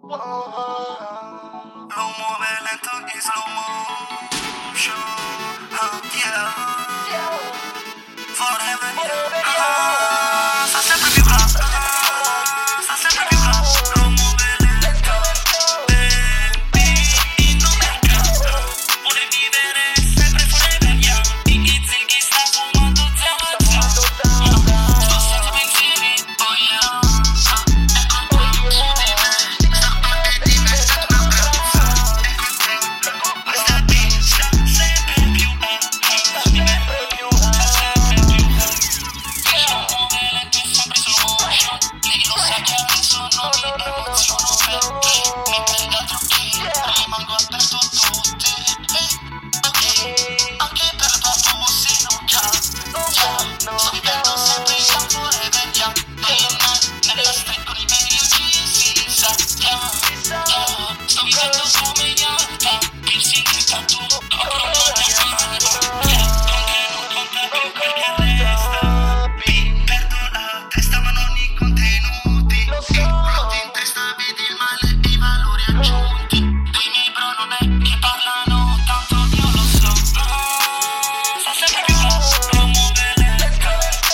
Lo muove lento in slow motion. Yeah. Forever. Sta sempre più hot. Sta sempre più hot. Lo muove lento. Baby, non mi accade. Vuole vivere sempre forever, yeah. Iggy Ziggy sta fumando zama. Sto senza pensieri, oh yeah. Ecco qua, su di me. Sta parte diventata una brezza. Ecco qua, questa beat sta sempre più su di me. Sta sempre più lo muove lento e sempre slow motion. Lei lo sa che adesso non mi emoziono perché mi prende altro che rimango aperto a tutti. Ok, anche per la tua se non cade. Sto vivendo sempre in forever, yeah. Nella street con i miei si sa, yeah. Sto vivendo come Yalta, piercing e tattoo, copro la mia mano, yeah. Con te non conta più quel che resta. Perdo la testa ma non i contenuti. Ruoti in testa, vedi il male e i valori aggiunti. Dei miei bro non è che parlano, tanto io lo so. Sta sempre più hot, lo muove lento.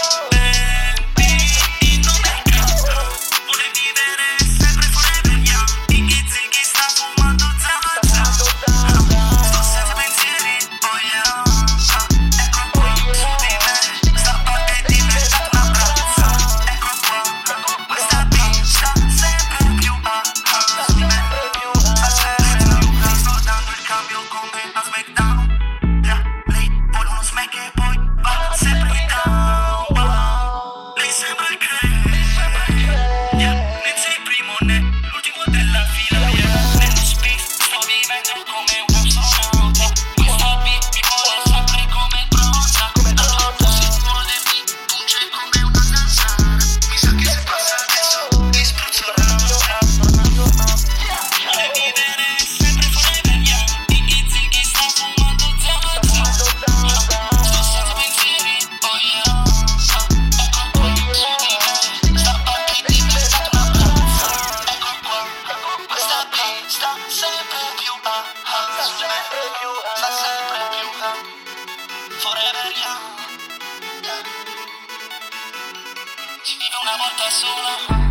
Baby, non mi accade. Vuole vivere sempre forever, yeah. Iggy Ziggy sta fumando zama. Sto senza pensieri, oh yeah. Ecco qua, su di me. Sta parte diventata una brezza. Ecco qua, questa beat sta sempre più su di me. Sta sempre più. Sto dando il cambio come a SmackDown. Yeah, lei vuole uno smack e poi va sempre down. Wow. Lei sembra il crack. Yeah, non sei il primo né l'ultimo della fila. Yeah, nello space sto vivendo come un astronauta. Questa beat mi vuole sempre come bronza. Allora si muove, mi punge come una zanzara. Mi sa che se passa adesso ti spruzzo l'ansia. Vuole vivere sempre forever, yeah. Iggy Ziggy sta fumando zama. Sto senza pensieri, oh yeah. Ecco qua, su di me. Sta parte diventata una brezza. Ecco qua, questa beat sta sempre più su di me. Sta sempre più forever, yeah. Si vive una volta sola.